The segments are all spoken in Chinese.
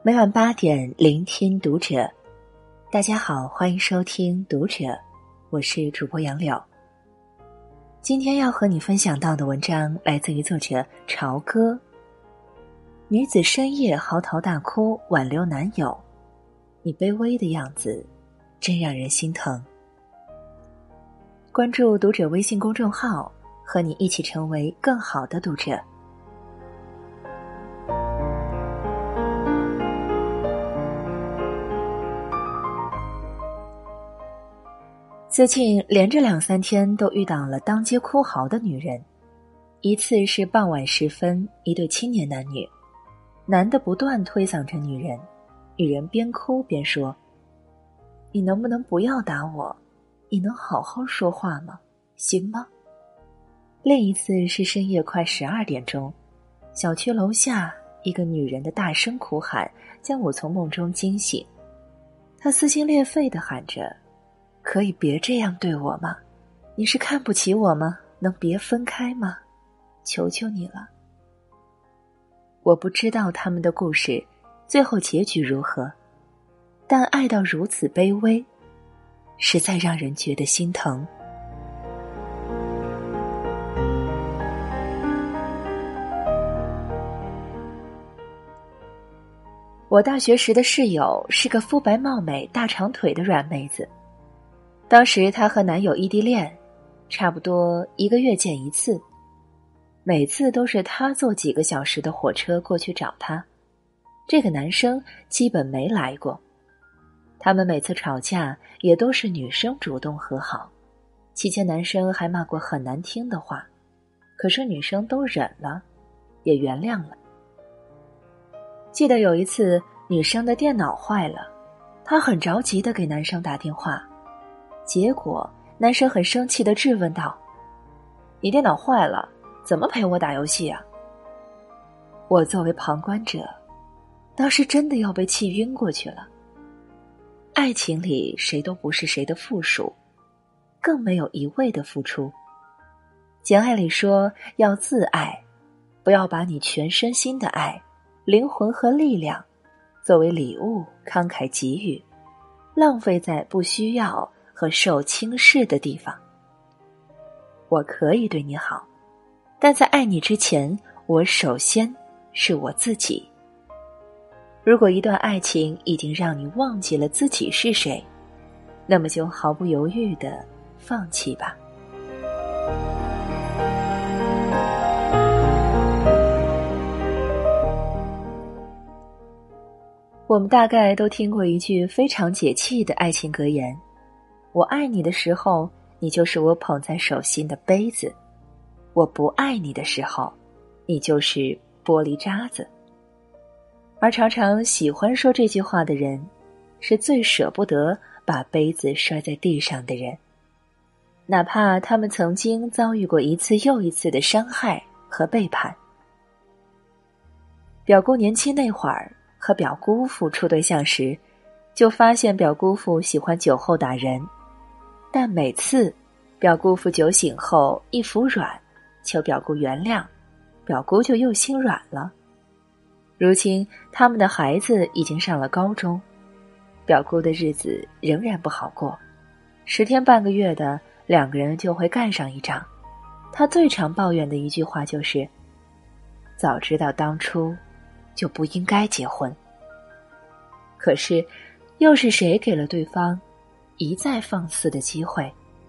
每晚8点聆听读者。大家好，欢迎收听读者，我是主播杨柳。今天要和你分享到的文章来自于作者朝歌。女子深夜嚎啕大哭挽留男友，你卑微的样子真让人心疼。关注读者微信公众号，和你一起成为更好的读者。最近连着2-3天都遇到了当街哭嚎的女人。一次是傍晚时分，一对青年男女，男的不断推搡着女人，女人边哭边说：“你能不能不要打我？你能好好说话吗？行吗？”另一次是深夜快12点钟，小区楼下一个女人的大声哭喊将我从梦中惊醒。她撕心裂肺地喊着：“可以别这样对我吗？你是看不起我吗？能别分开吗？求求你了。”我不知道他们的故事最后结局如何，但爱到如此卑微，实在让人觉得心疼。我大学时的室友是个肤白貌美、大长腿的软妹子。当时她和男友异地恋，差不多1个月见一次，每次都是她坐几个小时的火车过去找他，这个男生基本没来过。他们每次吵架也都是女生主动和好，期间男生还骂过很难听的话，可是女生都忍了，也原谅了。记得有一次女生的电脑坏了，她很着急地给男生打电话，结果男生很生气地质问道：“你电脑坏了，怎么陪我打游戏啊？”我作为旁观者，当时真的要被气晕过去了。爱情里谁都不是谁的附属，更没有一味的付出。简爱里说要自爱，不要把你全身心的爱、灵魂和力量作为礼物慷慨给予，浪费在不需要和受轻视的地方。我可以对你好，但在爱你之前，我首先是我自己。如果一段爱情已经让你忘记了自己是谁，那么就毫不犹豫地放弃吧。我们大概都听过一句非常解气的爱情格言：我爱你的时候，你就是我捧在手心的杯子；我不爱你的时候，你就是玻璃渣子。而常常喜欢说这句话的人，是最舍不得把杯子摔在地上的人，哪怕他们曾经遭遇过一次又一次的伤害和背叛。表姑年轻那会儿和表姑父处对象时，就发现表姑父喜欢酒后打人，但每次表姑父酒醒后一服软，求表姑原谅，表姑就又心软了。如今他们的孩子已经上了高中，表姑的日子仍然不好过，10天半个月的2个人就会干上一仗。他最常抱怨的一句话就是：早知道当初就不应该结婚。可是又是谁给了对方一再放肆的机会？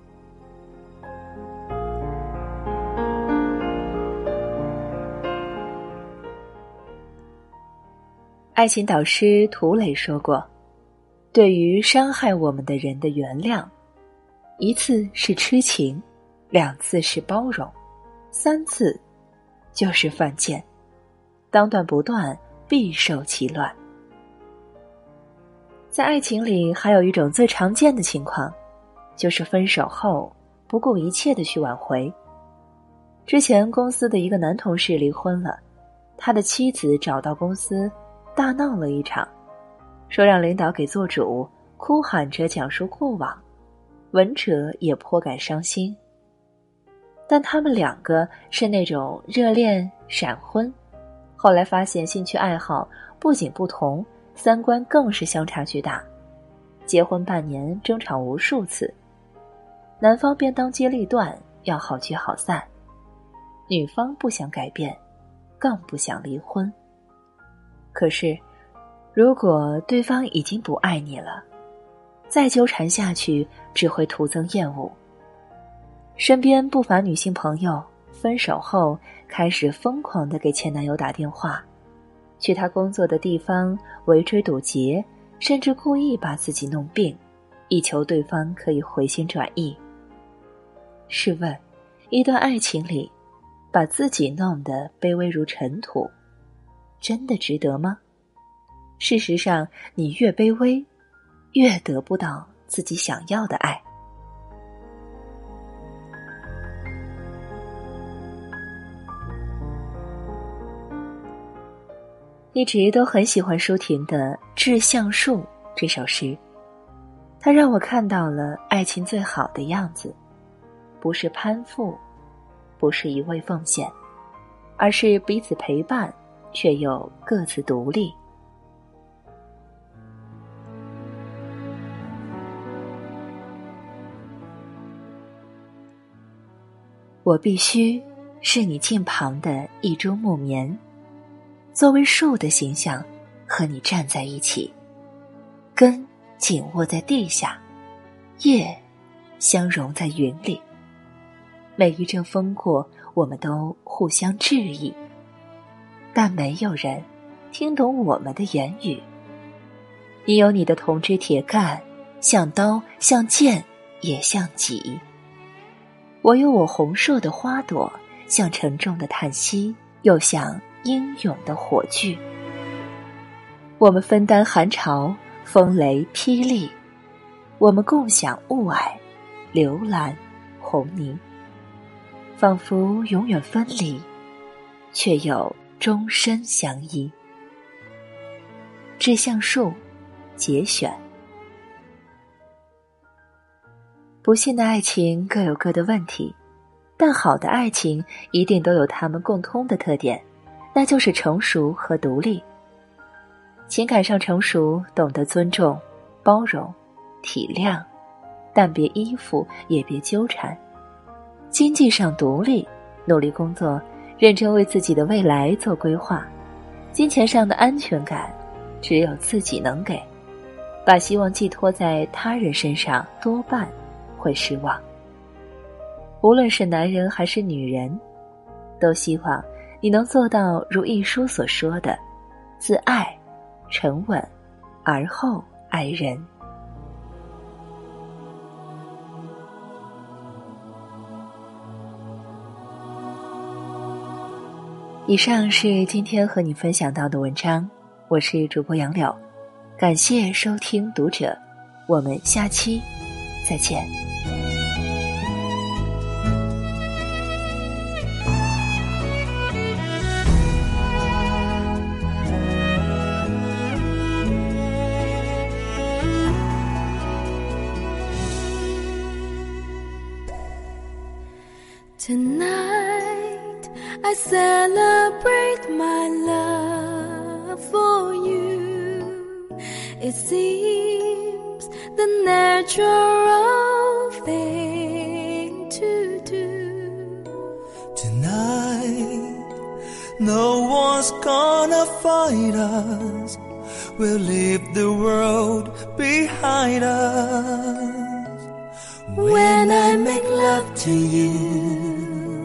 爱情导师涂磊说过，对于伤害我们的人的原谅，1次是痴情，2次是包容，3次就是犯贱，当断不断，必受其乱。在爱情里还有一种最常见的情况，就是分手后不顾一切地去挽回。之前公司的一个男同事离婚了，他的妻子找到公司大闹了一场，说让领导给做主，哭喊着讲述过往，闻者也颇感伤心。但他们2个是那种热恋闪婚，后来发现兴趣爱好不仅不同， 三观更是相差巨大，结婚半年争吵无数次，男方便当机立断要好聚好散，女方不想改变，更不想离婚。可是如果对方已经不爱你了，再纠缠下去只会徒增厌恶。身边不乏女性朋友分手后开始疯狂地给前男友打电话，去他工作的地方围追堵截，甚至故意把自己弄病，以求对方可以回心转意。试问，一段爱情里把自己弄得卑微如尘土，真的值得吗？事实上，你越卑微，越得不到自己想要的爱。一直都很喜欢舒婷的《致橡树》这首诗，它让我看到了爱情最好的样子，不是攀附，不是一味奉献，而是彼此陪伴，却又各自独立。我必须是你近旁的一株木棉，作为树的形象和你站在一起，根紧握在地下，叶相融在云里。每一阵风过，我们都互相致意，但没有人听懂我们的言语。你有你的铜枝铁干，像刀像剑也像戟，我有我红硕的花朵，像沉重的叹息，又像英勇的火炬。我们分担寒潮，风雷霹雳，我们共享雾霭、流岚、红泥，仿佛永远分离，却又终身相依。致橡树节选。不幸的爱情各有各的问题，但好的爱情一定都有它们共通的特点，那就是成熟和独立。情感上成熟，懂得尊重、包容、体谅，但别依附，也别纠缠。经济上独立，努力工作，认真为自己的未来做规划。金钱上的安全感，只有自己能给。把希望寄托在他人身上，多半会失望。无论是男人还是女人，都希望你能做到如一书所说的，自爱、沉稳，而后爱人。以上是今天和你分享到的文章，我是主播杨柳，感谢收听读者，我们下期再见。 Tonight I celebrate my love for you. It seems the natural thing to do. Tonight no one's gonna fight us. We'll leave the world behind us. When I make love to you,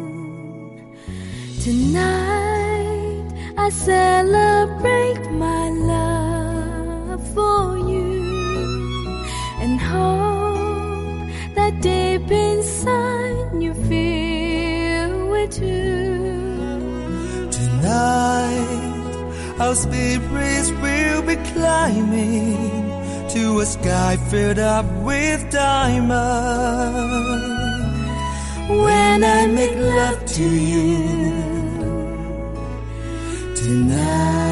tonight I celebrate my love for you, and hope that deep inside you feel it too. Tonight our spirits will be climbing to a sky filled up with diamonds. When I make love to you tonight,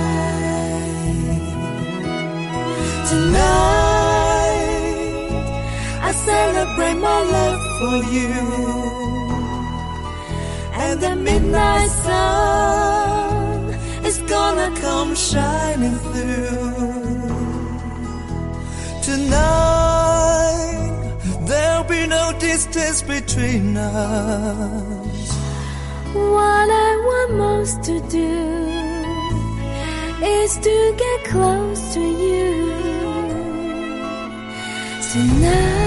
I celebrate my love for you, and the midnight sun is gonna come shining through. Tonight there'll be no distance between us. What I want most to do is to get close to you tonight.